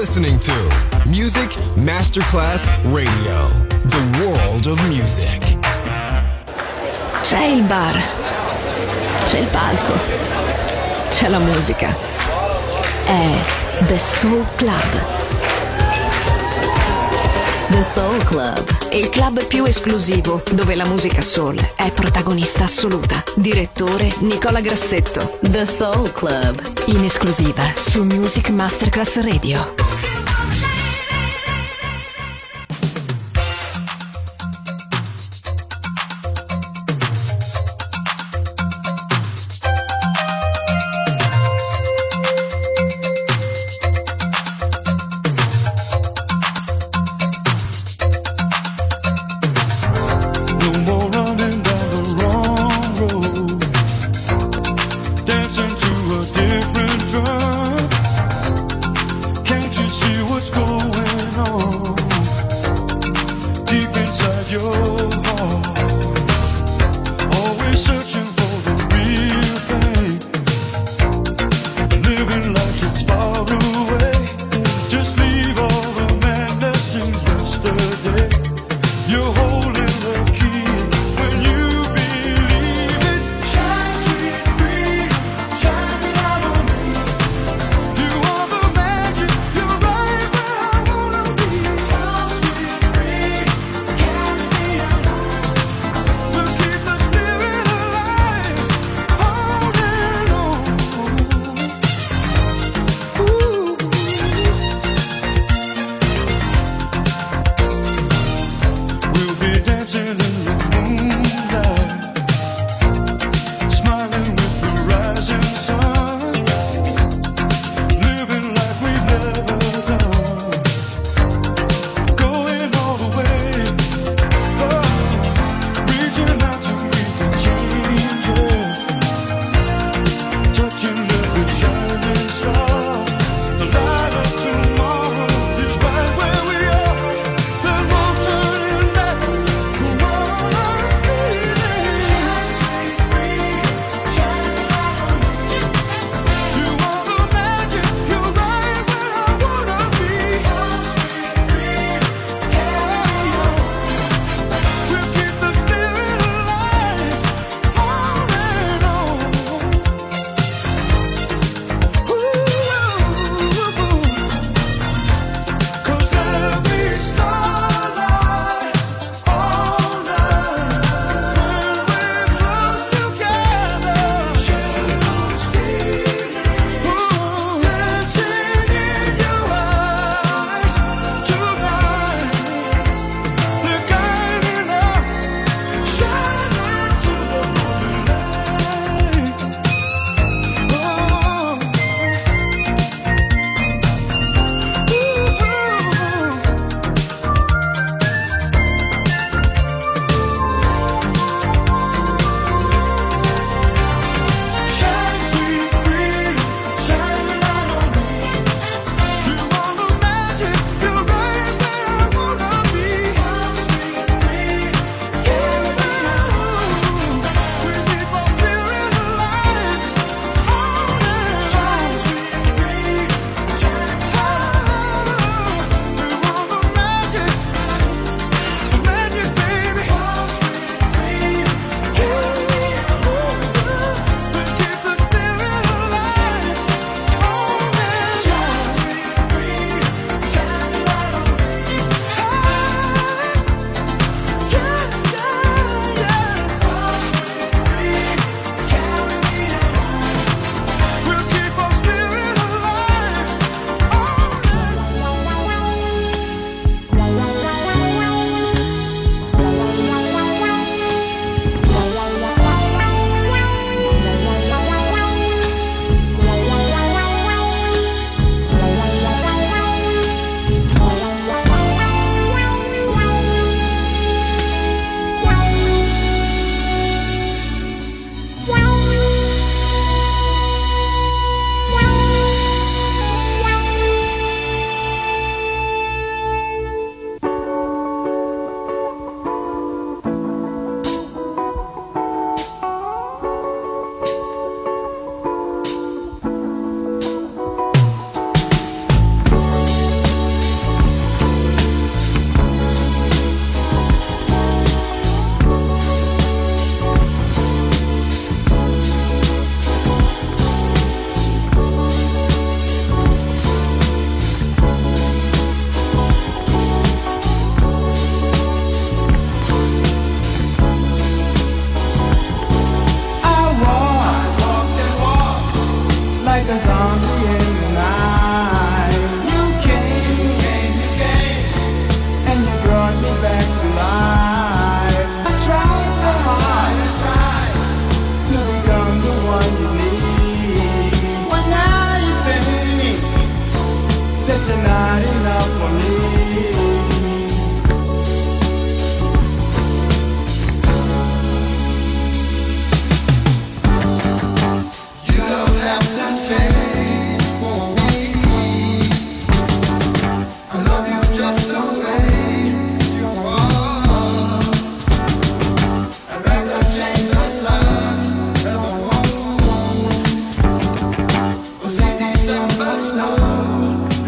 listening to Music Masterclass Radio, the world of music. C'è il bar, c'è il palco, c'è la musica. È The Soul Club. The Soul Club, il club più esclusivo dove la musica soul è protagonista assoluta. Direttore Nicola Grassetto. The Soul Club, in esclusiva su Music Masterclass Radio.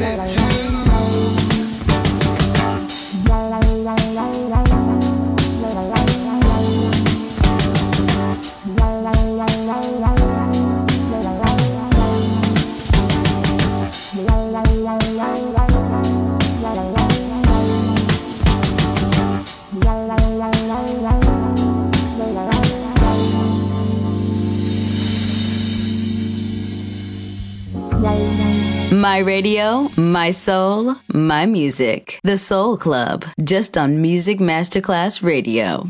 My radio, my soul, my music. The Soul Club, just on Music Masterclass Radio.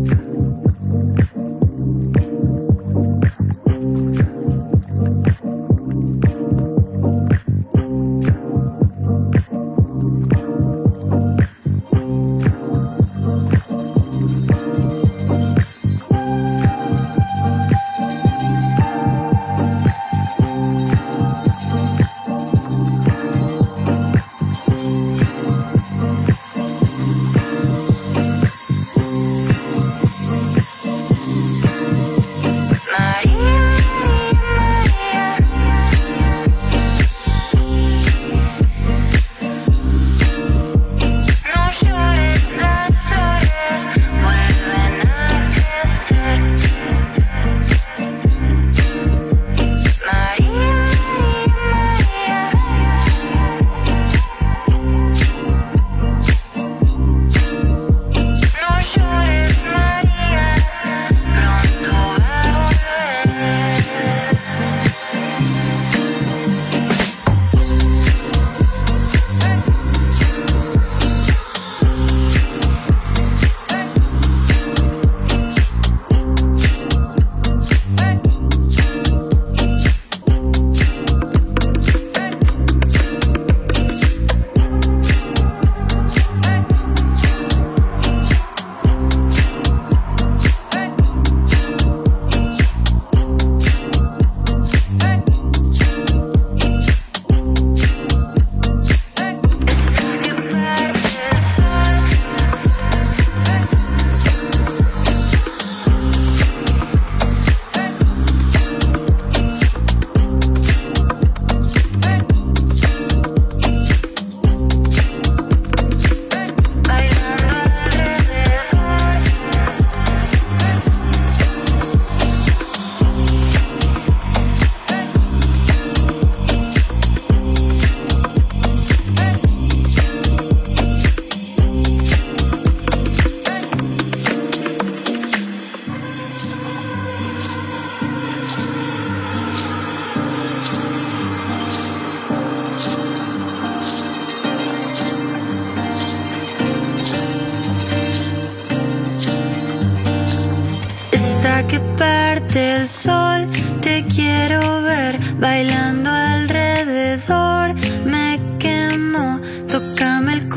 Que parte el sol, te quiero ver bailando alrededor. Me quemo, tócame el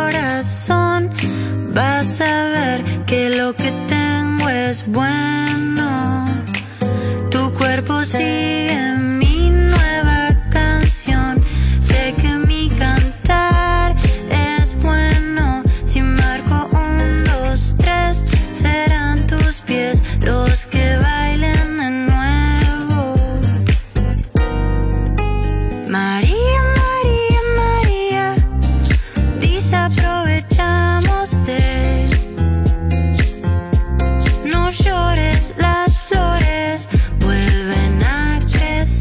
corazón. Vas a ver que lo que tengo es bueno. Tu cuerpo sigue mi nueva canción. Sé que mi cantar es bueno. Si marco 1, 2, 3, serán tus pies los que bailen de nuevo. María, María, María, desaprovechándote. No llores, las flores vuelven a crecer.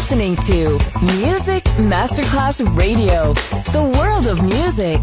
listening to Music Masterclass Radio, the world of music.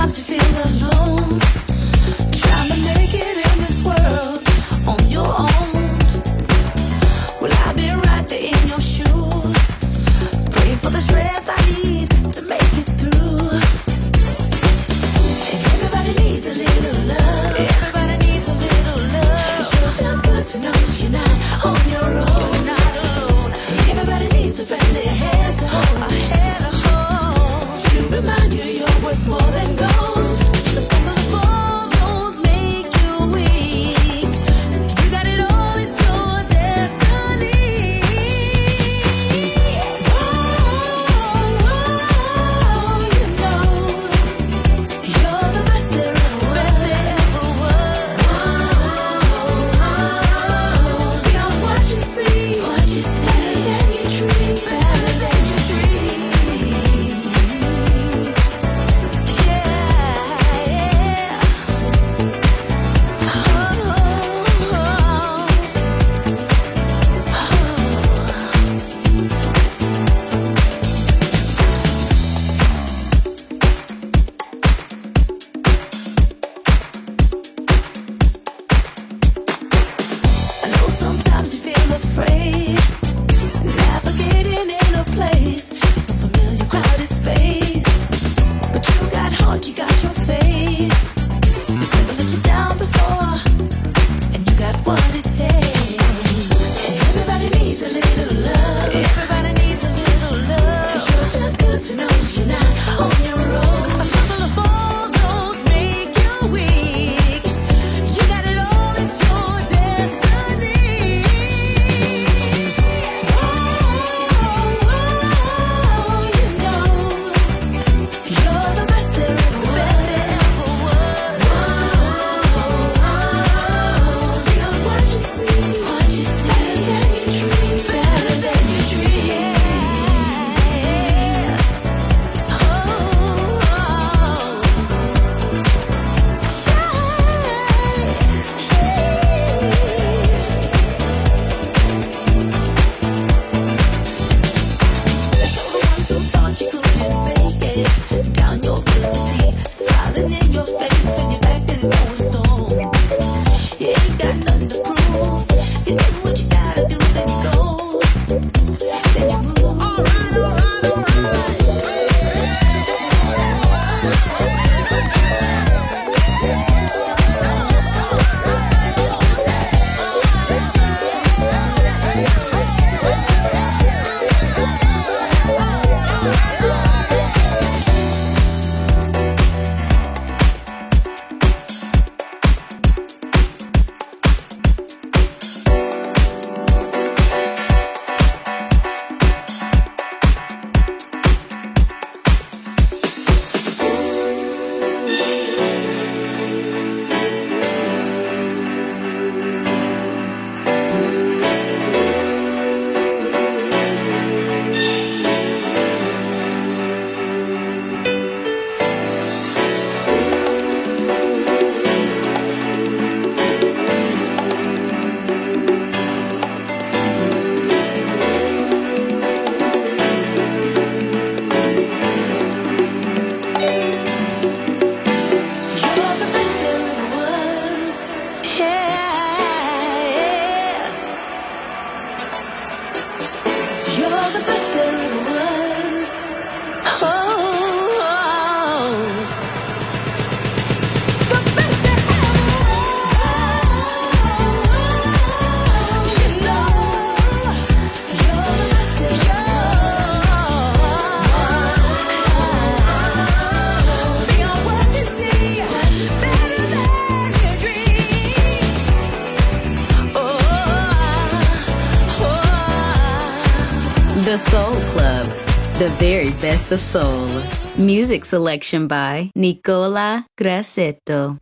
The Soul Club, the very best of soul. Music selection by Nicola Grassetto.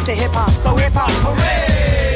to hip hop, so hip hop hooray!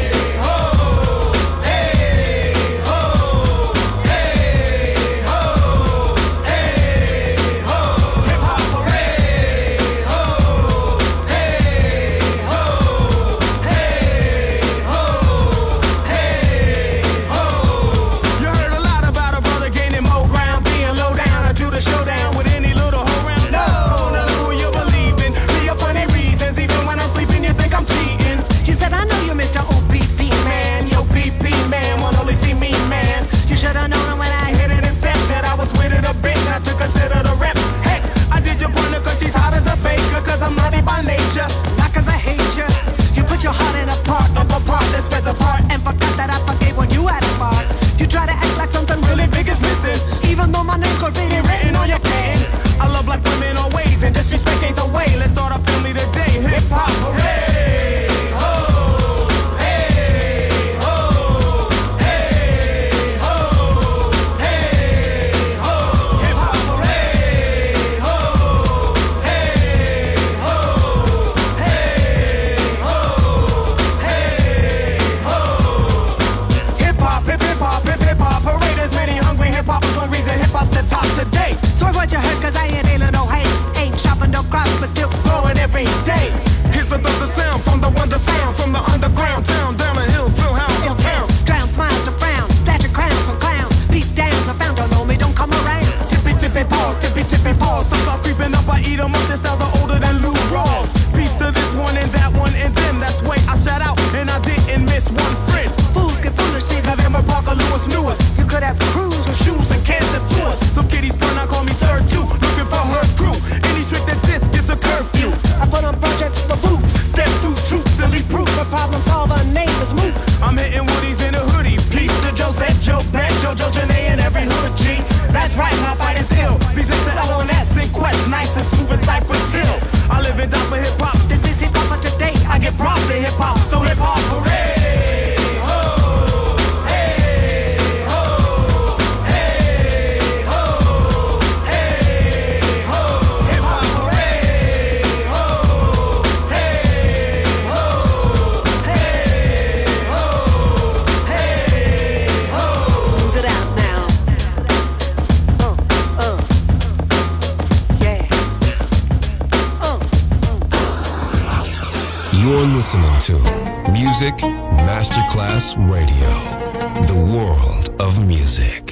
You're listening to Music Masterclass Radio, the world of music.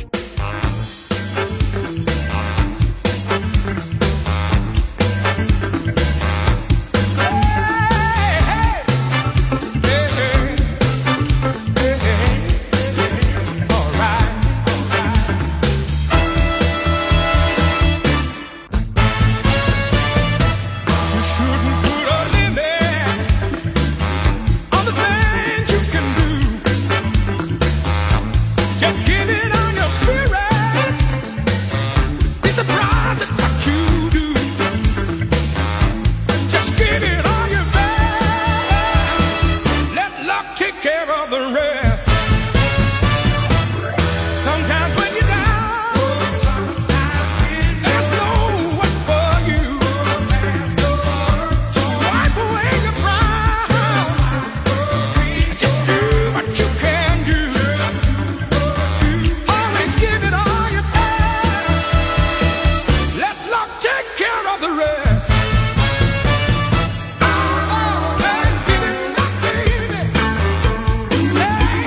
Say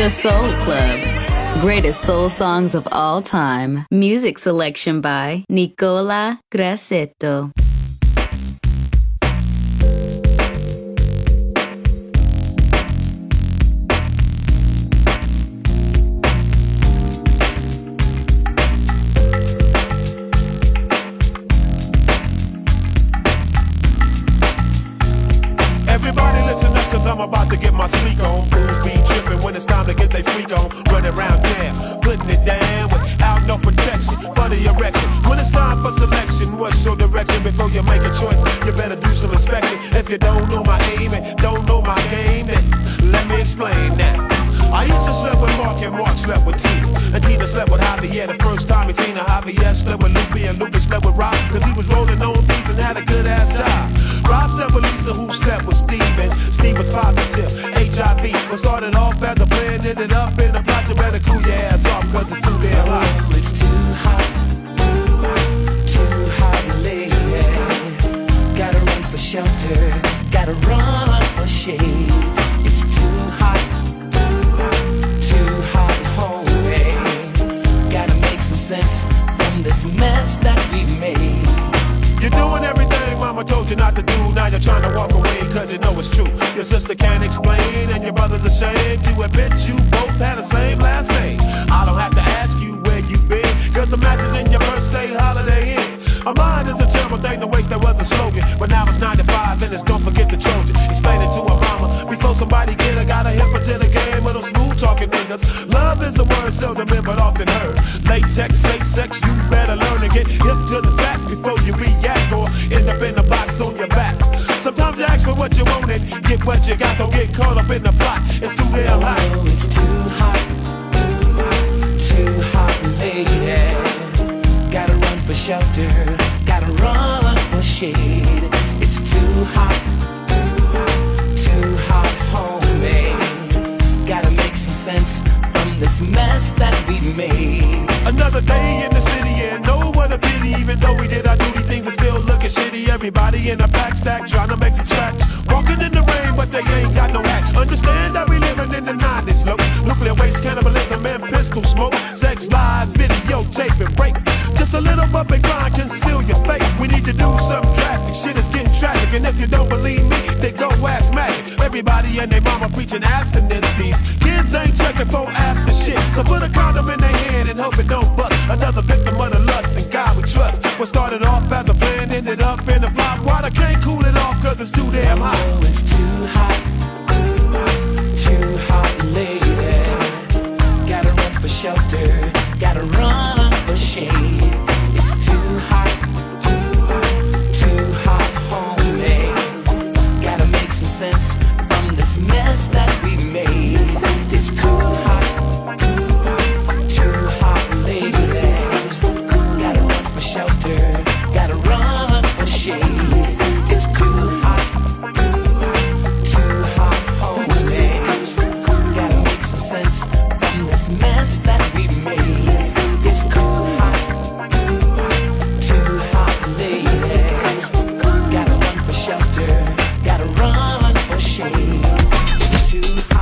The Soul Club. Greatest soul songs of all time. Music selection by Nicola Grassetto. I'm about to get my speak on. Fools be tripping when it's time to get they freak on. Running around town, putting it down without no protection for the erection. When it's time for selection, what's your direction? Before you make a choice, you better do some inspection. If you don't know my aim and don't know my game, then let me explain that. I used to slept with Mark and Mark slept with Tina. And Tina slept with Javier the first time he seen her. Javier slept with Lupe and Lupe slept with Rob. Cause he was rolling on beats and had a good ass job. Rob slept with Lisa who slept with Steven. Steve was positive, HIV. What started off as a plan ended up in a plot. You better cool your ass off cause it's too damn hot. Oh, it's too hot, too hot, lady. Gotta run for shelter, gotta run for shade. It's too hot, homie. Gotta make some sense from this mess that we made. You're doing everything mama told you not to do. Now you're trying to walk away cause you know it's true. Your sister can't explain and your brother's ashamed to admit you both had the same last name. I don't have to ask you where you've been, cause the matches in your purse say Holiday Inn. A mind is a terrible thing to waste, that was a slogan. But now it's 9 to 5 and it's don't forget the Trojan. Explain it to her mama before somebody get her. Got a hip her to the game of them smooth talking niggas. Love is a word seldom in but often heard. Latex, safe sex, you better learn to get hip to the facts before you react or end up in the box on your back. Sometimes you ask for what you want and get what you got. Don't get caught up in the plot, it's too damn hot. Oh, it's too hot, lady. Gotta run for shelter, gotta run for shade. It's too hot, homie. Gotta make some sense from this mess that we made. Another day in the city and no what a pity. Even though we did our duty, things are still looking shitty. Everybody in a pack stack trying to make some scratch. Walking in the rain, but they ain't got no hat. Understand that we living in the 90s, look. Nuclear waste, cannibalism, and pistol smoke. Sex, lies, videotape, and rape. Just a little bump and grind, conceal your fate. We need to do something drastic, shit is getting tragic. And if you don't believe me, then go ask Magic. Everybody and their mama preaching abstinence. These kids ain't checking for apps to shit. So put a condom in their hand and hope it don't bust. Another victim of the lust and God we trust. What started off as a plan ended up in a flop. Water can't cool it off cause it's too damn hot. Oh, it's too hot, lady. Gotta run for shelter, gotta run for shade. It's too hot, homie. Gotta make some sense from this mess that we made. It's too hot, lady. Gotta run for shelter, gotta run for shade. It's too hot, homie. Gotta make some sense from this mess that we made. It's too hot, lady. Gotta run for shelter, gotta run for shade. It's too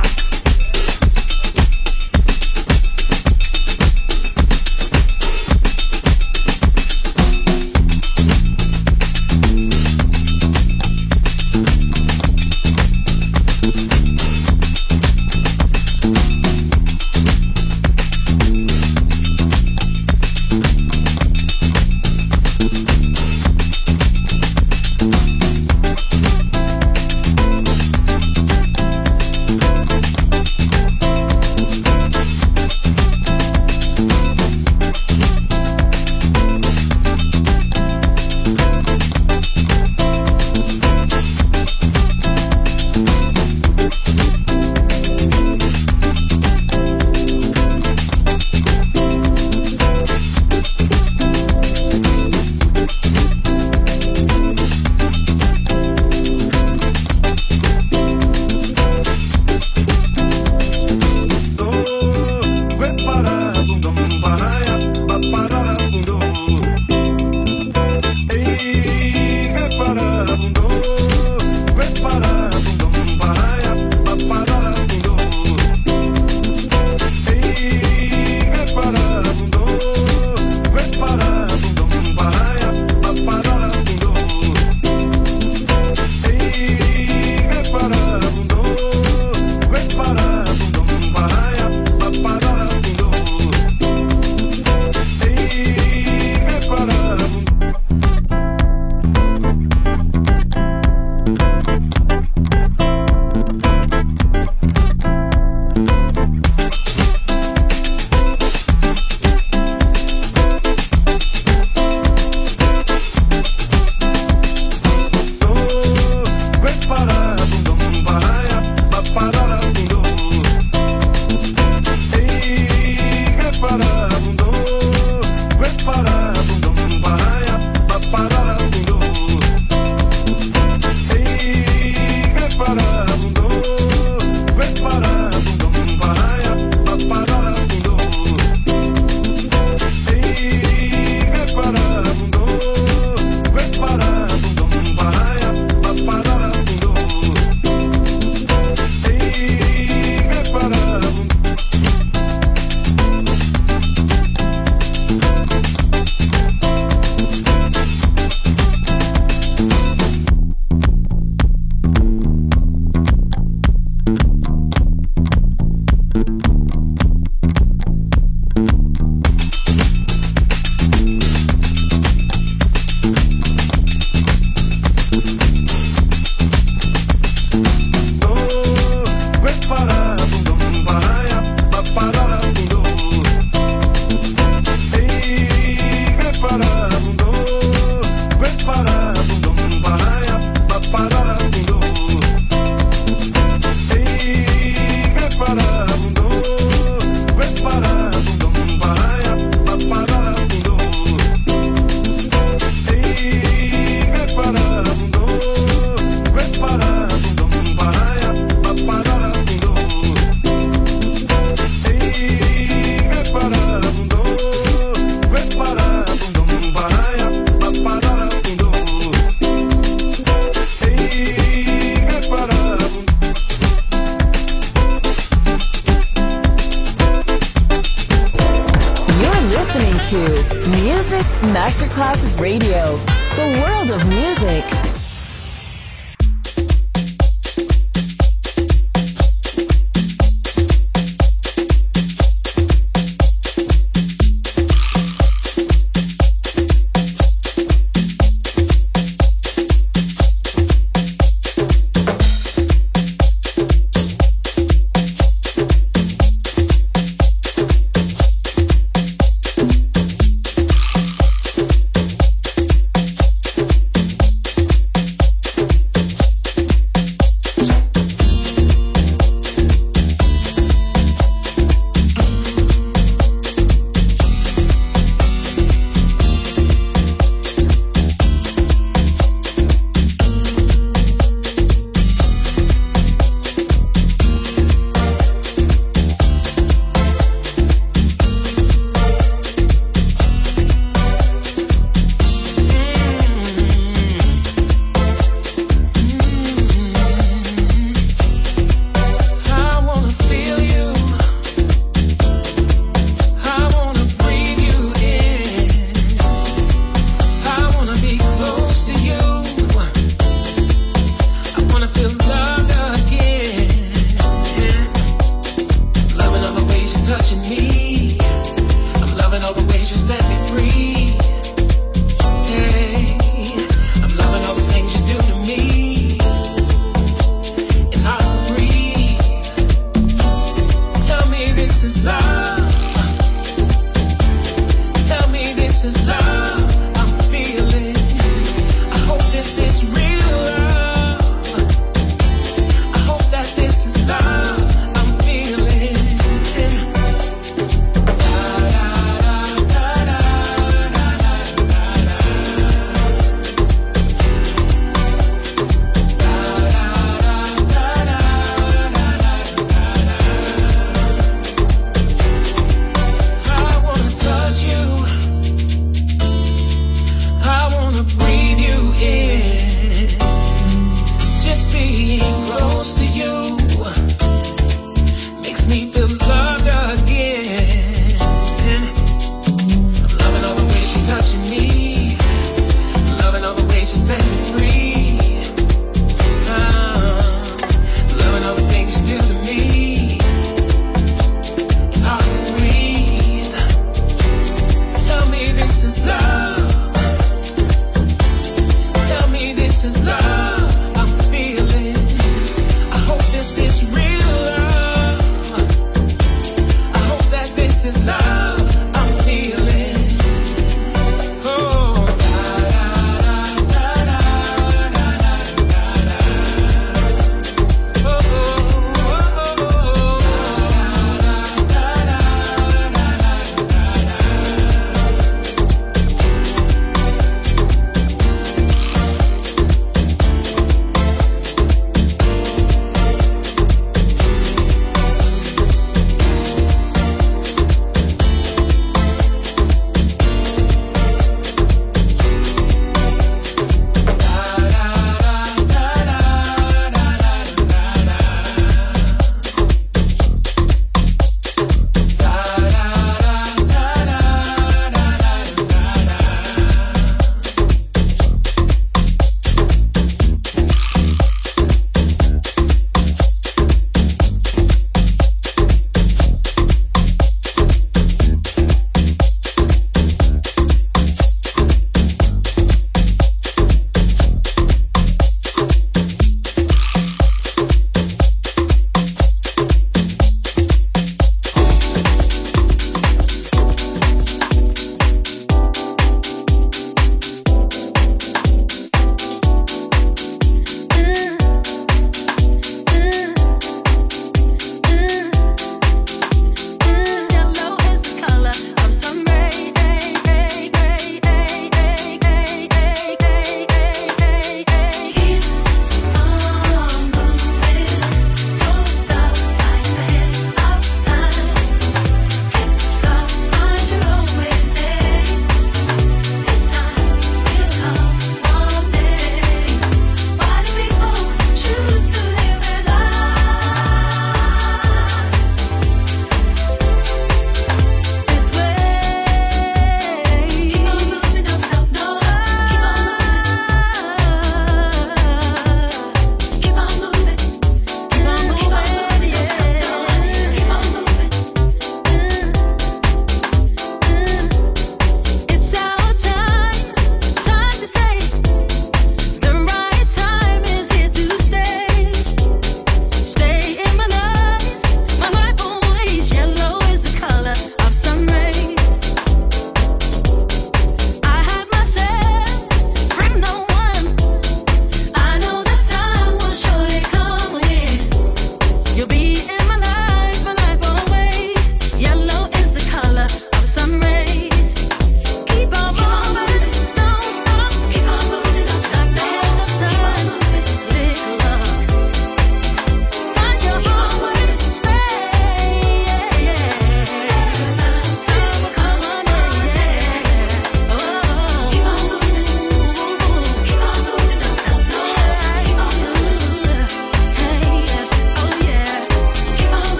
to Music Masterclass Radio, the world of music.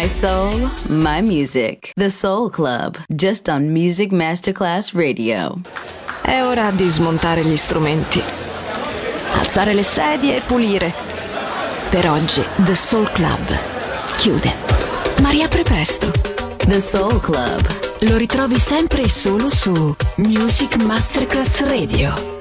My soul, my music. The Soul Club, just on Music Masterclass Radio. È ora di smontare gli strumenti, alzare le sedie e pulire. Per oggi The Soul Club chiude, ma riapre presto. The Soul Club. Lo ritrovi sempre e solo su Music Masterclass Radio.